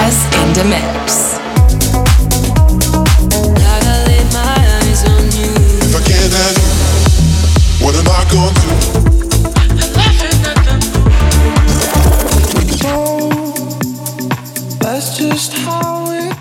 Bartez in the mix. If I can't have you, what am I gonna do? That's just how it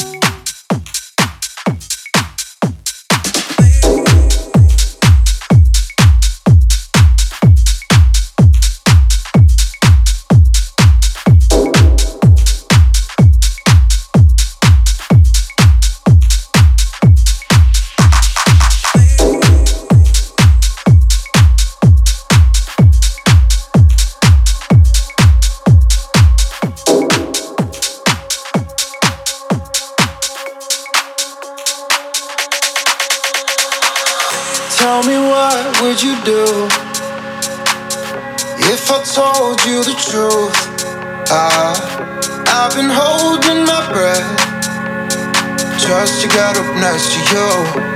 Tell me what would you do if I told you the truth? I've been holding my breath just to get up next to you.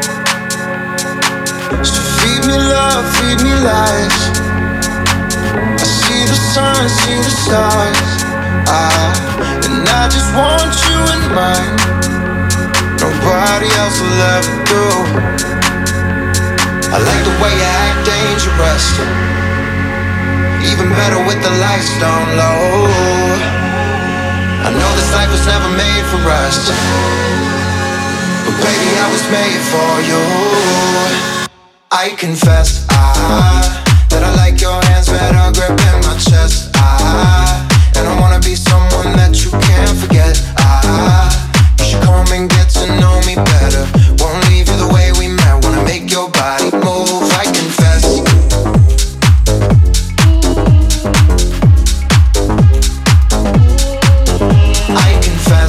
So feed me love, feed me lies. I see the sun, see the stars. And I just want you in mine. Nobody else will ever do. I like the way you act dangerous, even better with the lights down low. I know this life was never made for us, but baby, I was made for you. I confess, that I like your hands better gripping my chest. And I wanna be someone that you can't forget. You should come and get to know me better. Won't leave you the way we met. Wanna make your body move, I confess. I confess.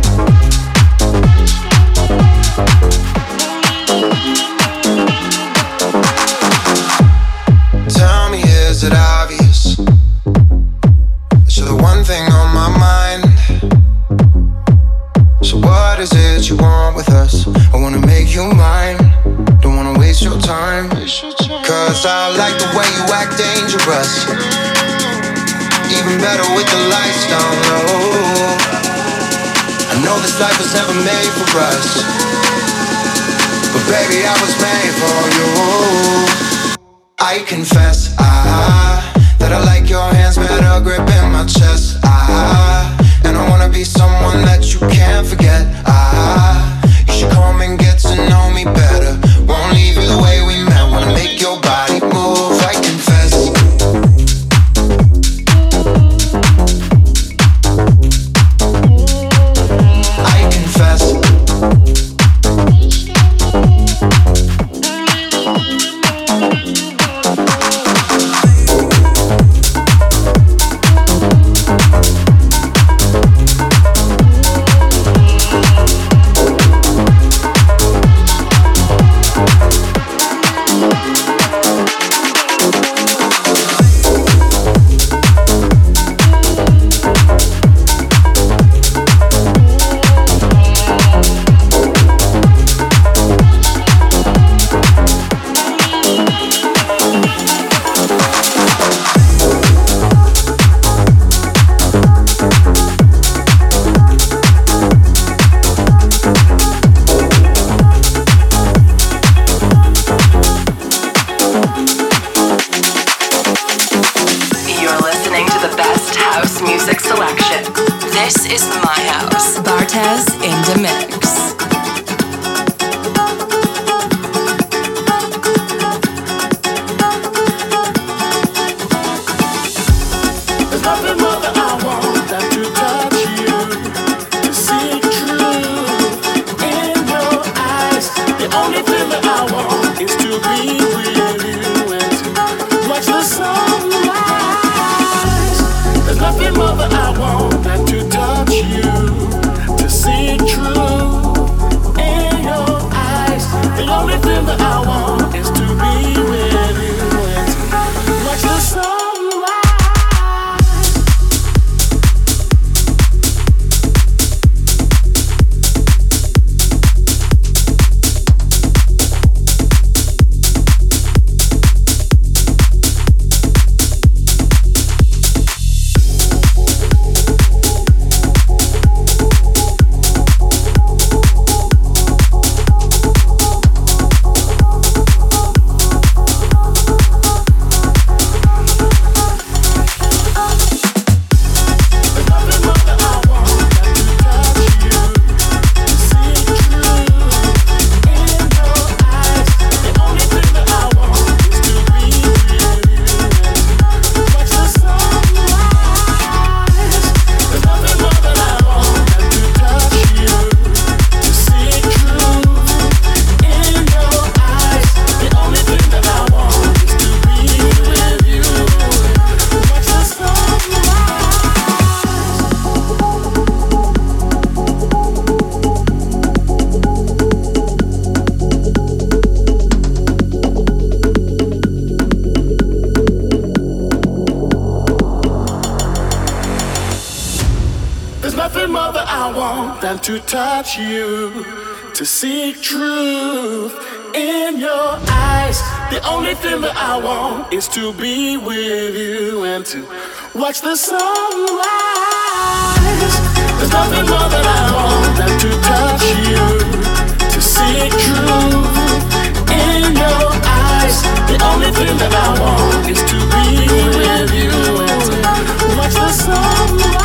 Tell me, is it obvious that you're the one thing on my mind? So what is it you want with us? I wanna make you mine. Don't wanna waste your time. Cause I like the way you act dangerous, even better with the lights down low. I know this life was never made for us, but baby, I was made for you. I confess, that I like your hands better gripping my chest. And I wanna be someone that you can't forget. You should come and get to know me better. Won't leave you the way we met. Wanna make your body move, I confess. I confess. Nothing more that I want than to touch you, to see it true. than to touch you, to seek truth in your eyes. The only thing that I want is to be with you and to watch the sunrise. There's nothing more that I want than to touch you, to seek truth in your eyes. The only thing that I want is to be with you and to watch the sunrise.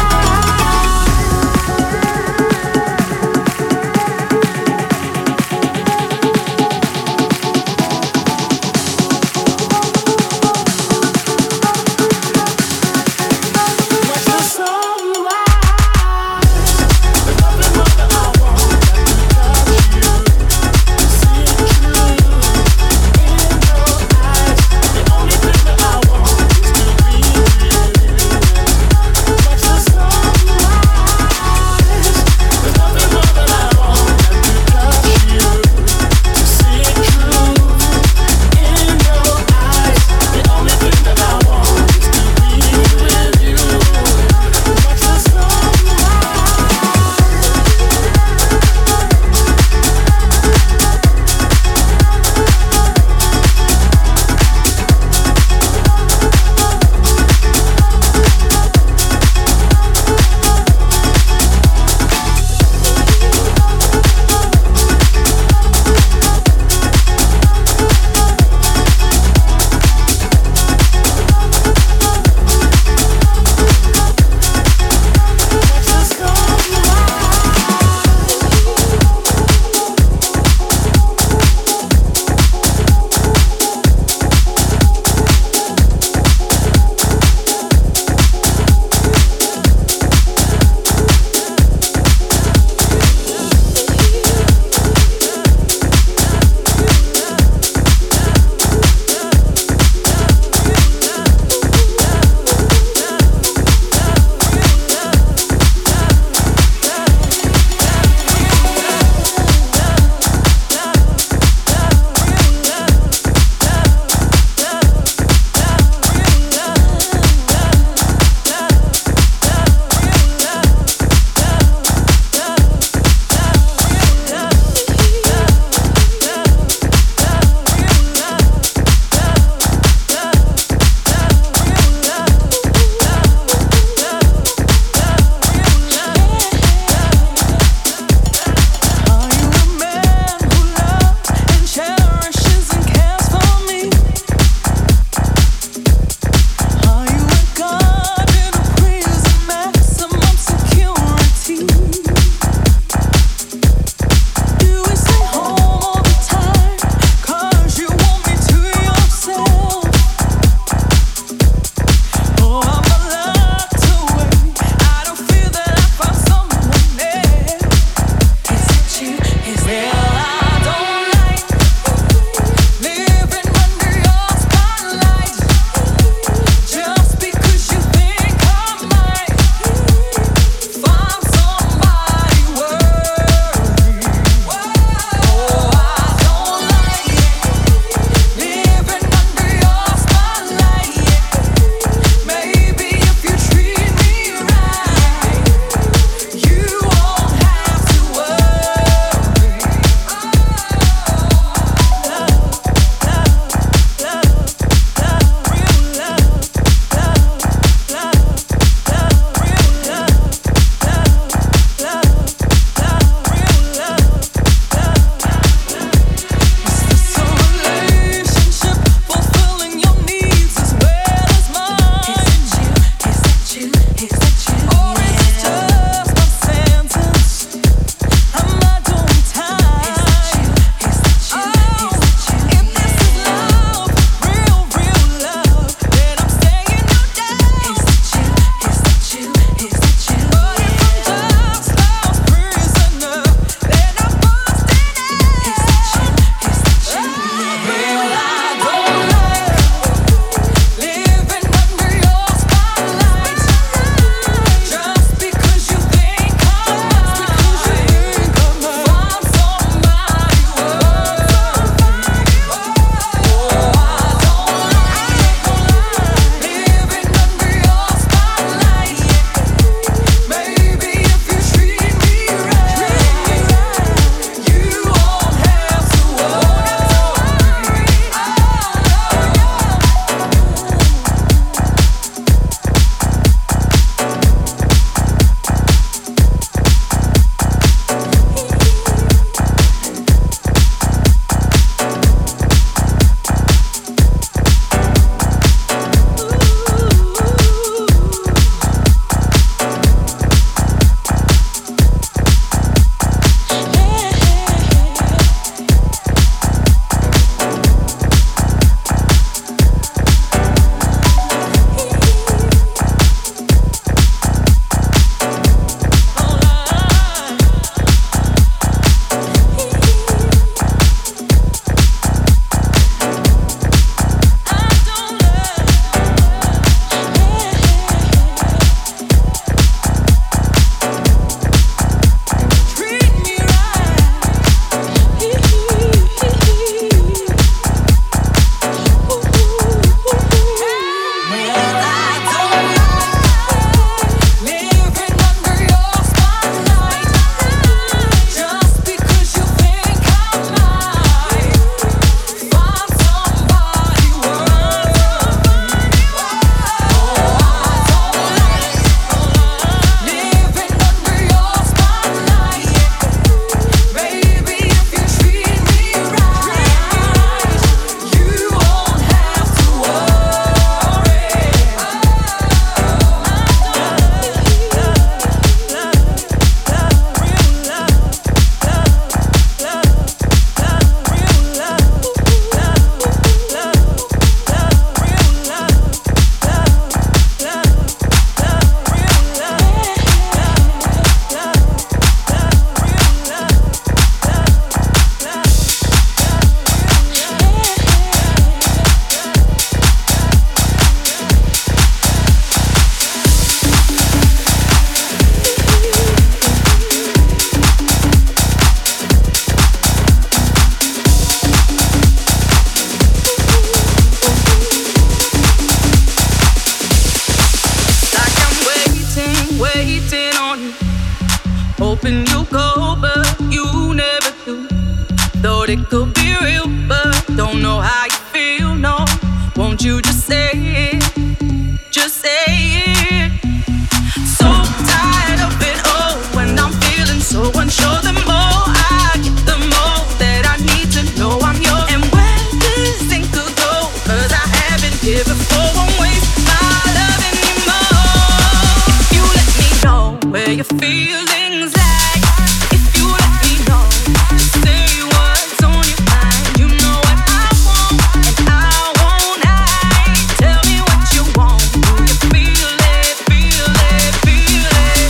it could be real, but don't know how you feel, no. Won't you just say it? Just say it. So tired of it all when I'm feeling so unsure. The more I get, the more that I need to know I'm yours. And where this thing could go, 'cause I haven't here before. Won't waste my love anymore. If you let me know where your feelings lie, if you let me know, just say what's on your mind. You know what I want, and I won't hide. Tell me what you want. Do you feel it? Feel it? Feel it?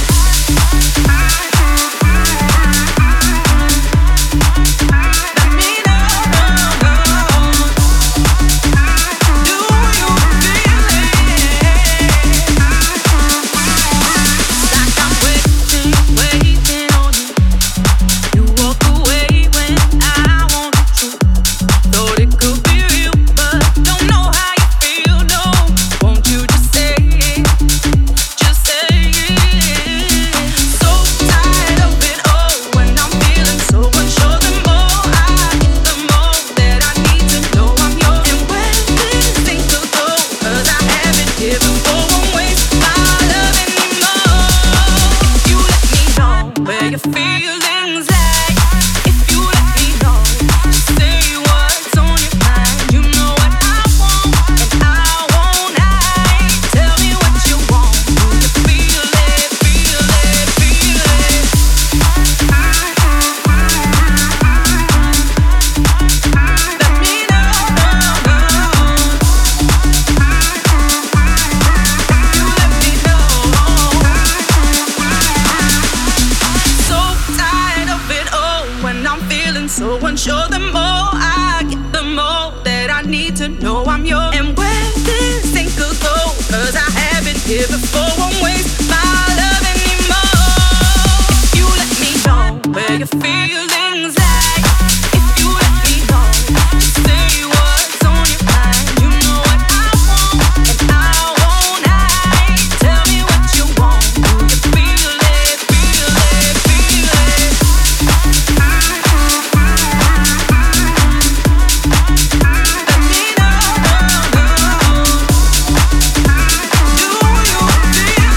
Let me know. Do you feel it? Like I'm waiting on you. You walk away when I want the truth. Thought it could be real, but don't know how you feel, no. Won't you just say it? Just say it. So tired of it all when I'm feeling so unsure. The more I get, the more that I need to know I'm yours. And where this thing could go, 'cause I haven't here before. Won't waste my love anymore. If you let me know where your feelings lie, if you let me know, just say what's on your mind. You know what I want, and I won't hide. Tell me what you want. Do you feel it? Feel it? Feel it? Let me know. You let me know. So tired of it all when I'm feeling so unsure. The more I get, the more that I need to know I'm yours. And where this thing could go, 'cause I haven't here before. Won't waste my love anymore. If you let me know where your feelings lie, if you let me know, just say what's on your mind. You know what I want, and I won't hide. Tell me what you want. Do you feel it? Feel it? Feel it? Let me know. Do you feel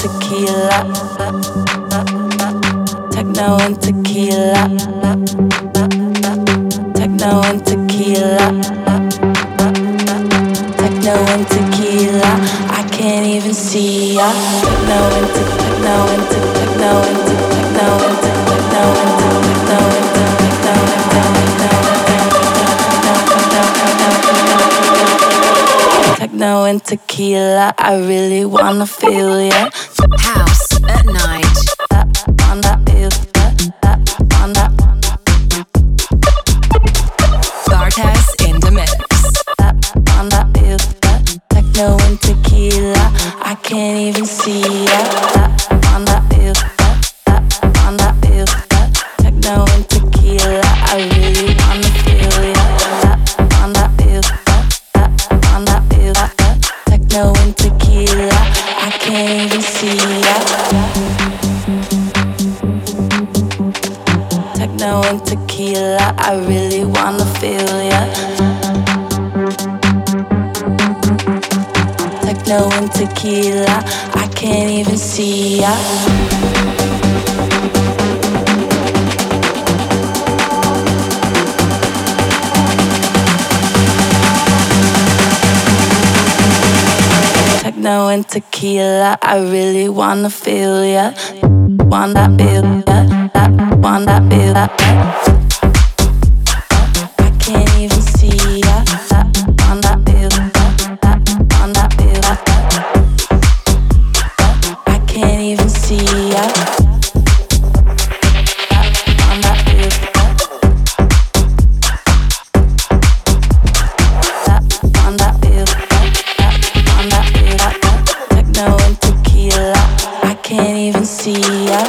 tequila. Techno and tequila. Techno and tequila. Techno and tequila. I can't even see ya. Techno and techno and techno and techno and techno and techno and techno and tequila. I really wanna feel ya. House at night. Bartez in the mix. Techno and tequila, I can't even see ya. Techno and tequila, I really wanna feel ya. Techno and tequila, I can't even see ya. Techno and tequila, I really wanna feel ya. Techno and tequila, I can't even see ya. Techno and tequila, I really wanna feel ya. Wanna feel ya, wanna feel ya. I can't even see ya. Wanna feel ya, wanna feel ya. I can't even see ya. Wanna feel ya. Wanna feel ya, wanna feel ya. Techno and tequila, I can't even see ya.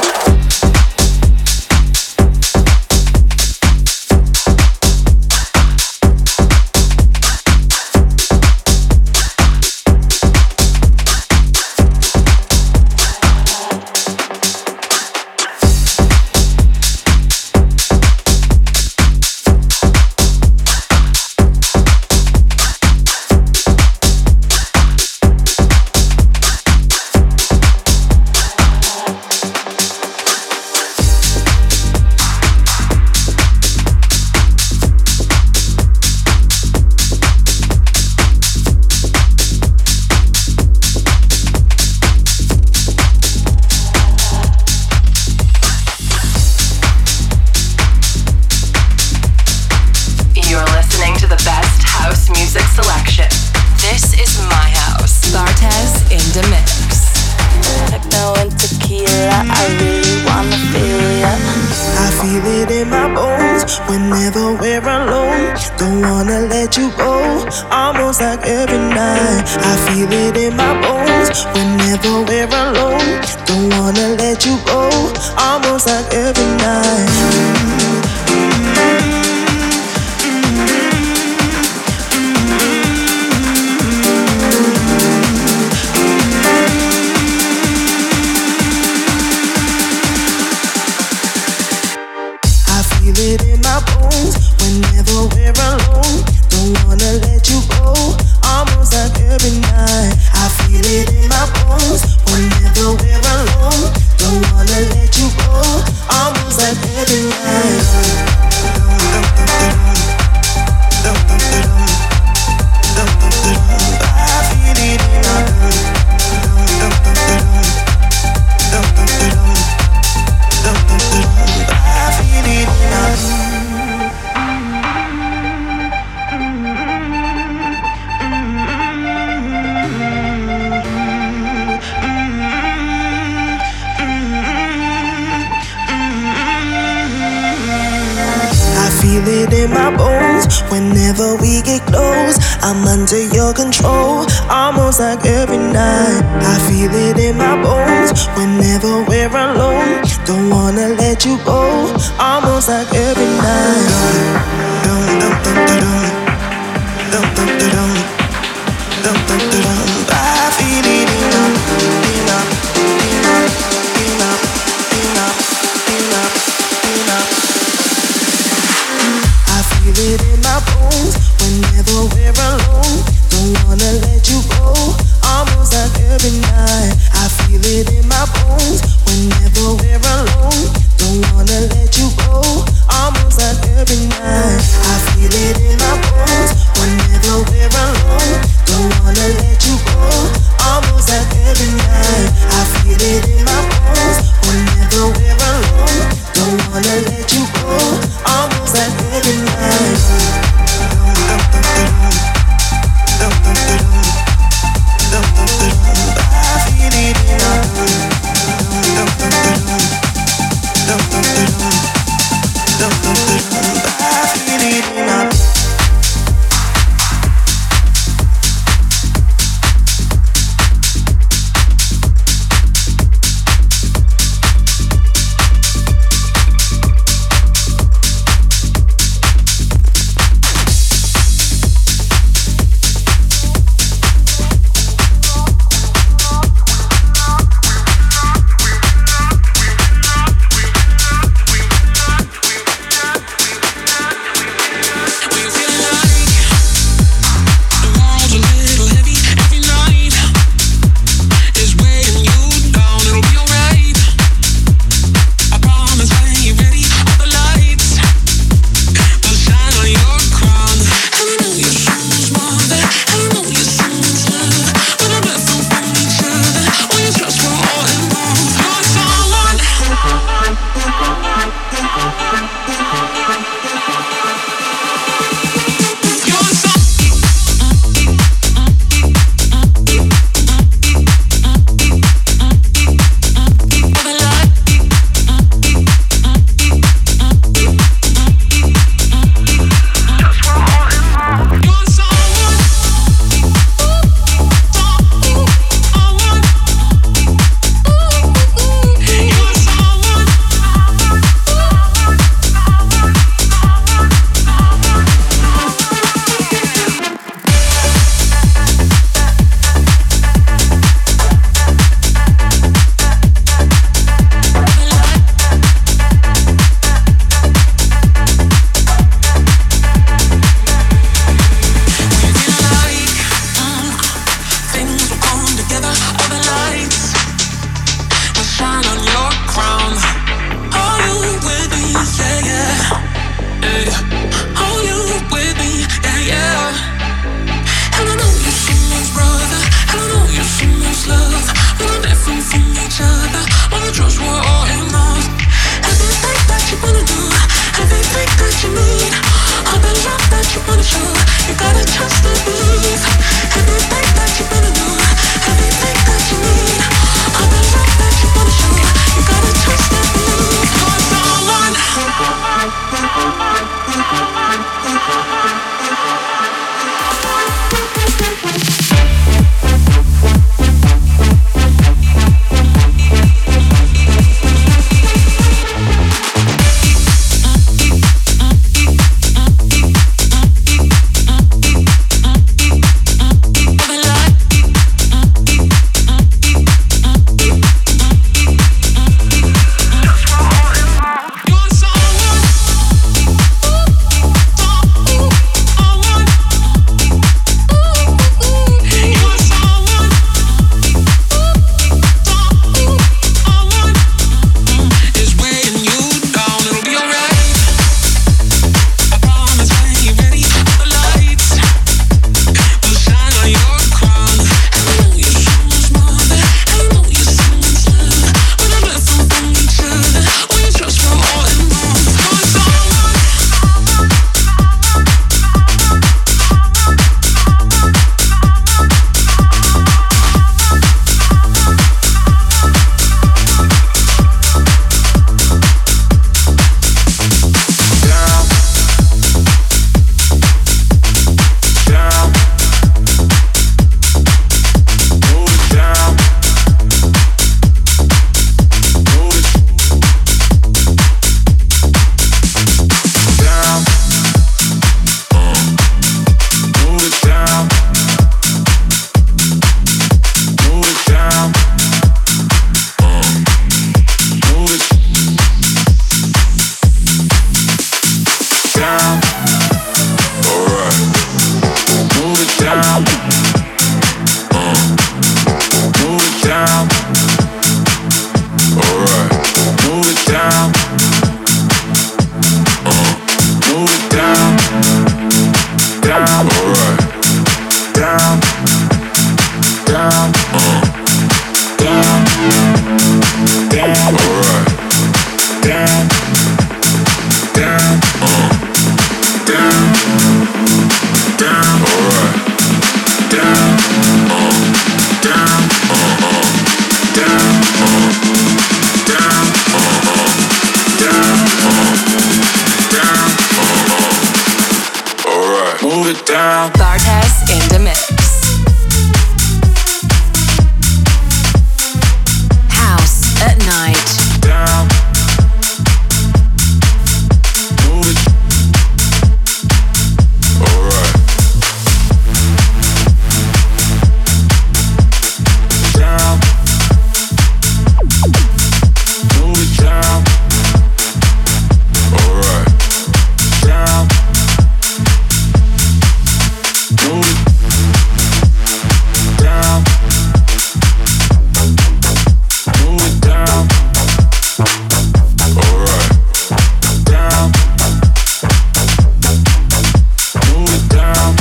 Whenever we get close, I'm under your control. Almost like every night, I feel it in my bones. Whenever we're alone, don't wanna let you go. Almost like every night. I feel it in my bones. Whenever we're alone, don't wanna let you go. Almost like every night, I feel it in my Bartez in the mix. House at night. Down. Move it. Alright. Down. Move it down. Alright. Down. Move it down. Move it down. Alright. Down. Move it down.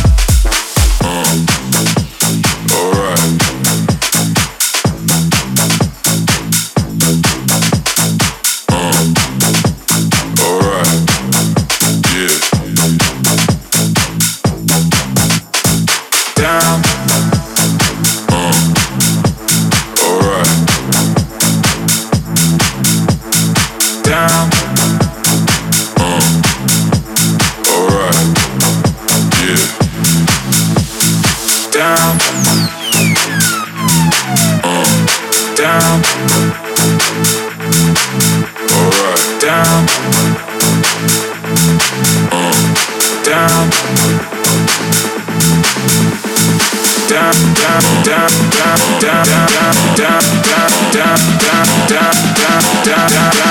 Alright. Alright. Yeah. Down. Alright. Down. Alright. Yeah. Down. Down. Alright. Down. Down. Down, down, down, down, down, down, down, down, down, down,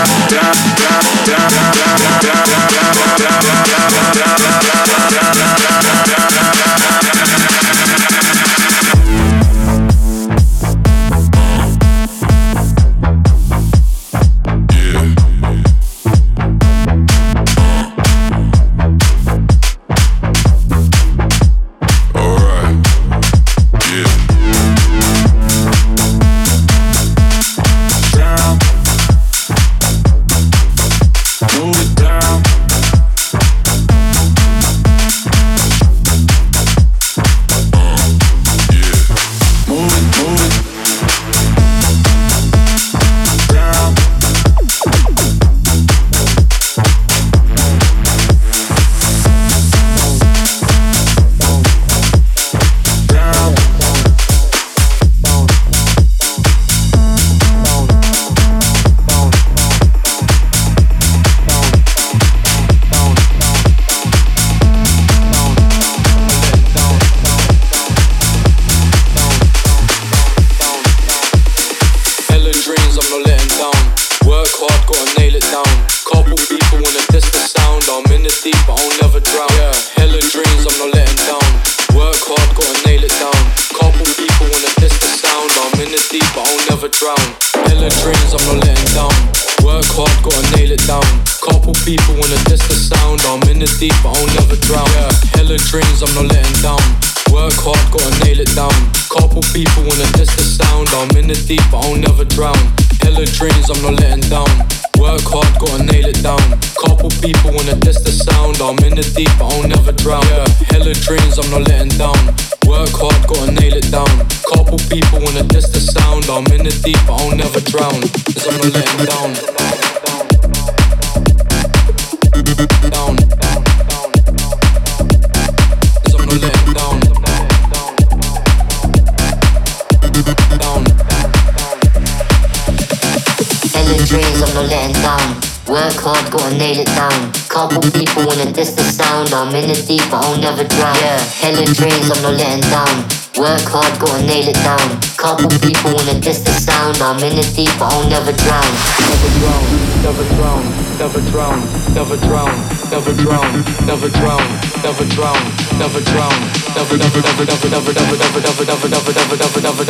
I'm in it deep, I won't never drown. Never drown, never drown, never drown, never drown, never drown, never drown, never drown, never drown, never never never never never never never never never never never never never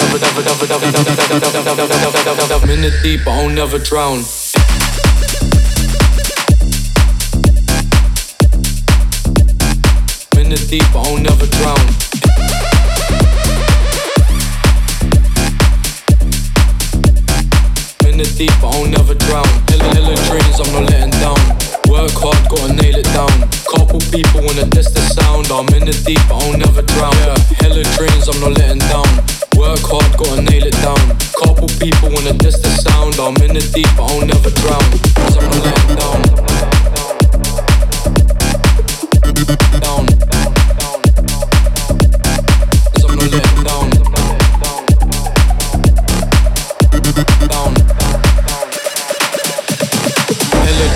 never never. I'm in it deep, I won't never drown. I'm in it deep, I won't never drown. Deep, I won't never drown. Hella dreams, I'm not letting down. Work hard, gotta nail it down. Couple people wanna test the sound. I'm in the deep, I won't never drown. Yeah, hella dreams, I'm not letting down. Work hard, gotta nail it down. Couple people wanna test the sound. I'm in the deep, I won't never drown. 'Cause I'm not letting down. Down.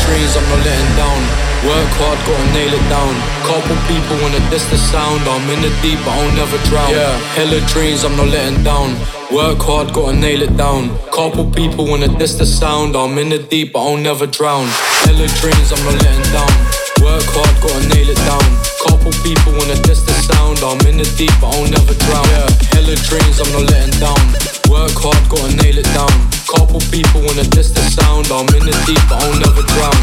dreams, I'm not letting down. Work hard, gotta nail it down. Couple people wanna diss the sound. I'm in the deep, but I'll never drown. Yeah, hella dreams, I'm not letting down. Work hard, gotta nail it down. Couple people wanna diss the sound. I'm in the deep, but I'll never drown. Hella dreams, I'm not letting down. Work hard, gotta nail it down. Couple people wanna diss the sound. I'm in the deep, but I'll never drown. Yeah, hella dreams, I'm not letting down. Work hard, gotta nail it down. Couple people wanna diss the sound. I'm in the deep, but I'll never drown.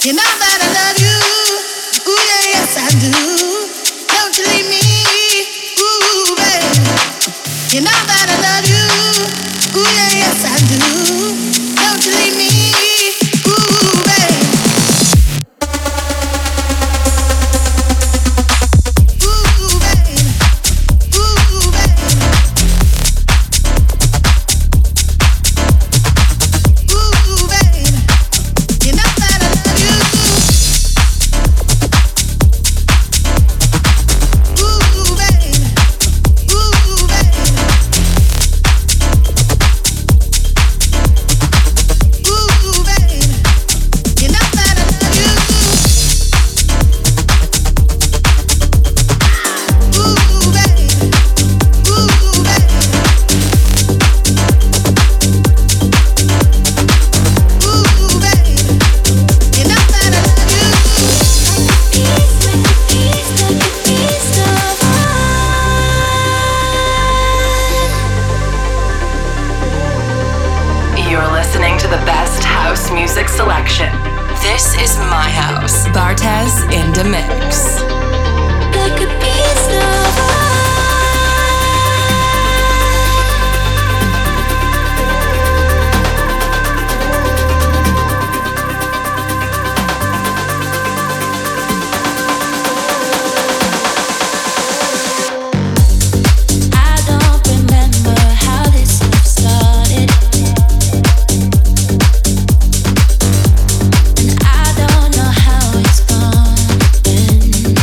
You know that I love you. Ooh, yeah, yes I do. Don't you leave me. Ooh, baby. You know that I love you. Ooh, yeah, yes I do. Don't you leave me. Ooh, baby. Ooh, baby. Ooh, baby. Ooh, baby. You know that I love you. Ooh, baby. Ooh, baby. Ooh, baby. You know that I love you. Ooh, baby. Ooh, baby. Ooh, baby. You know that I love you. You're listening to the best house music selection. This is my house. Bartez in the mix. Like a piece of I don't remember how this love started, and I don't know how it's gonna end.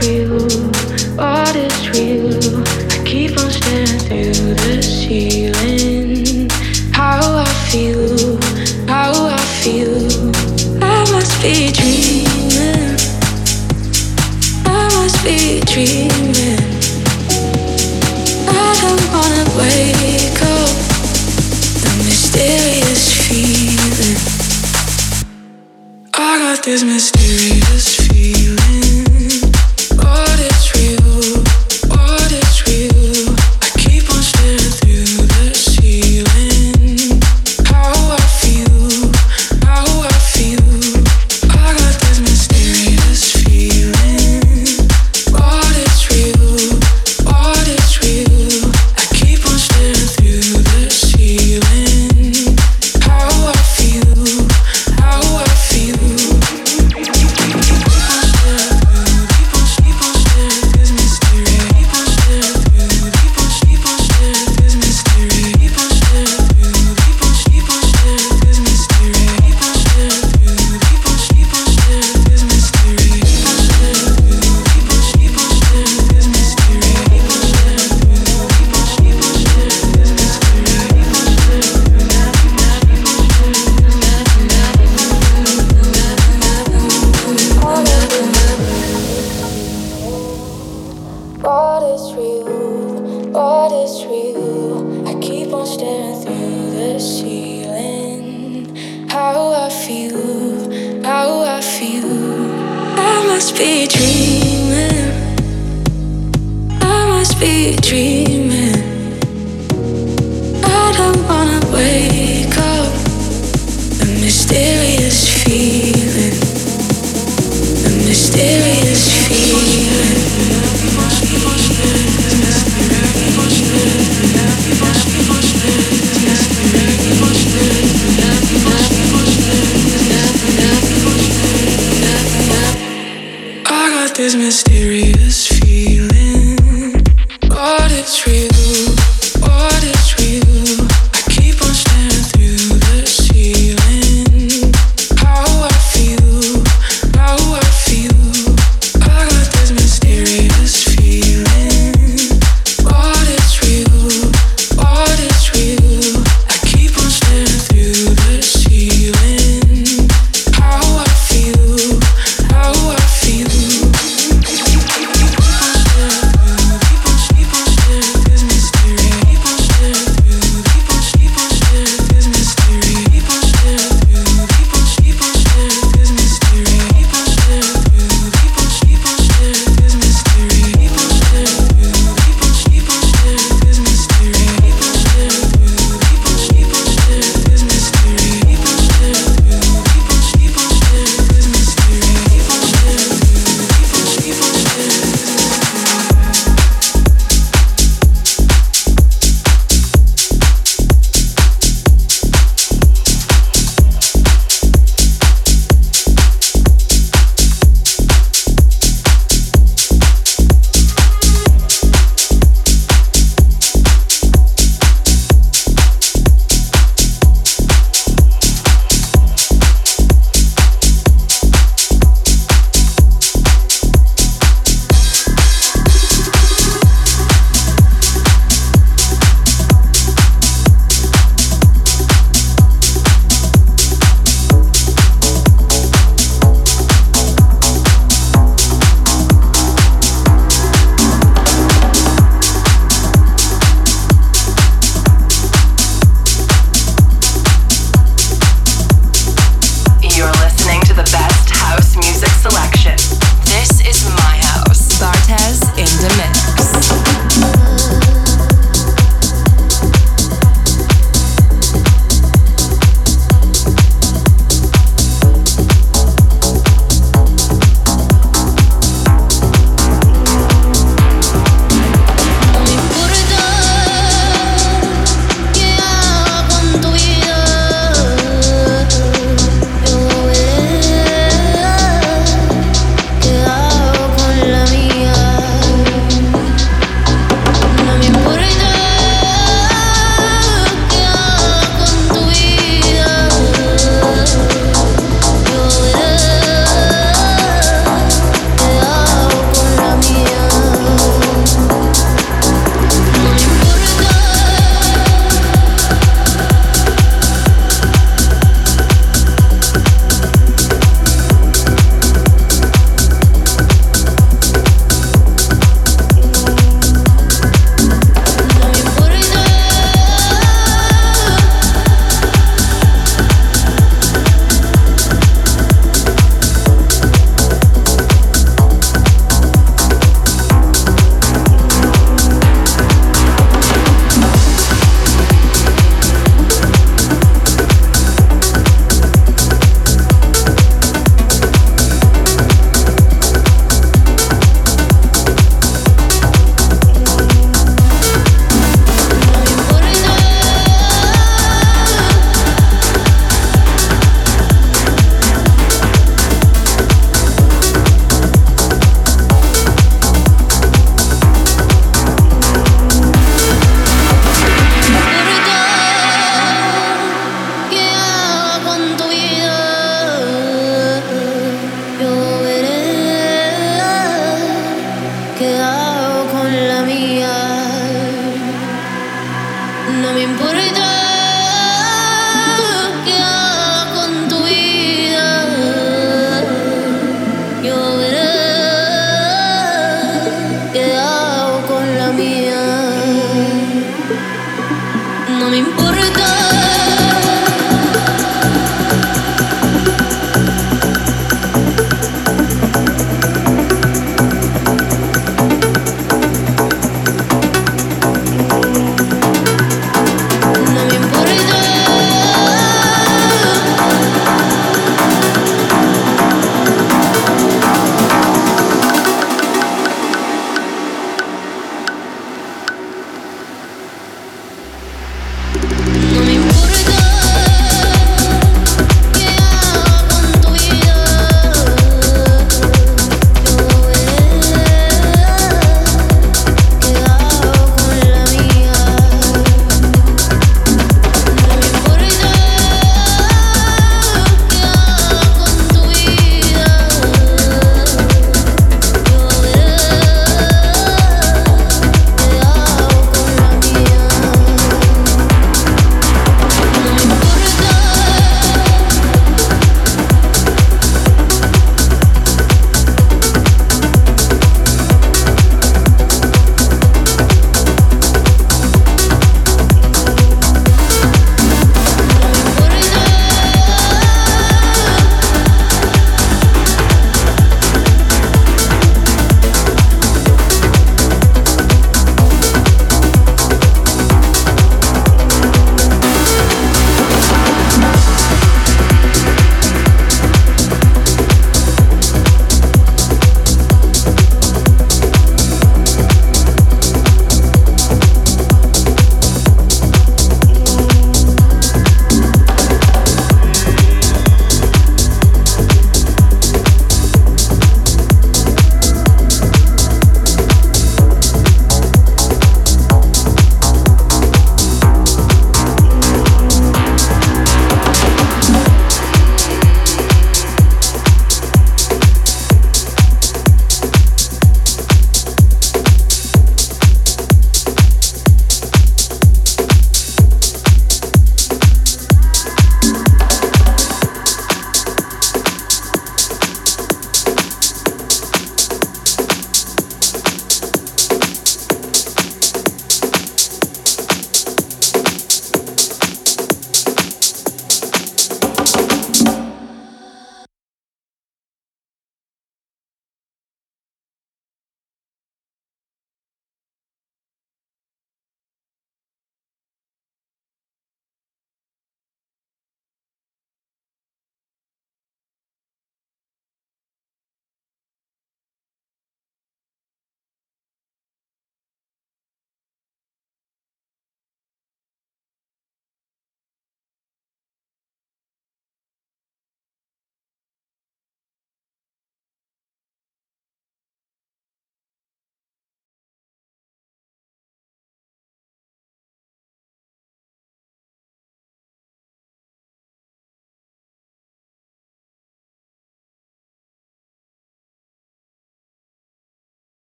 This dream boy.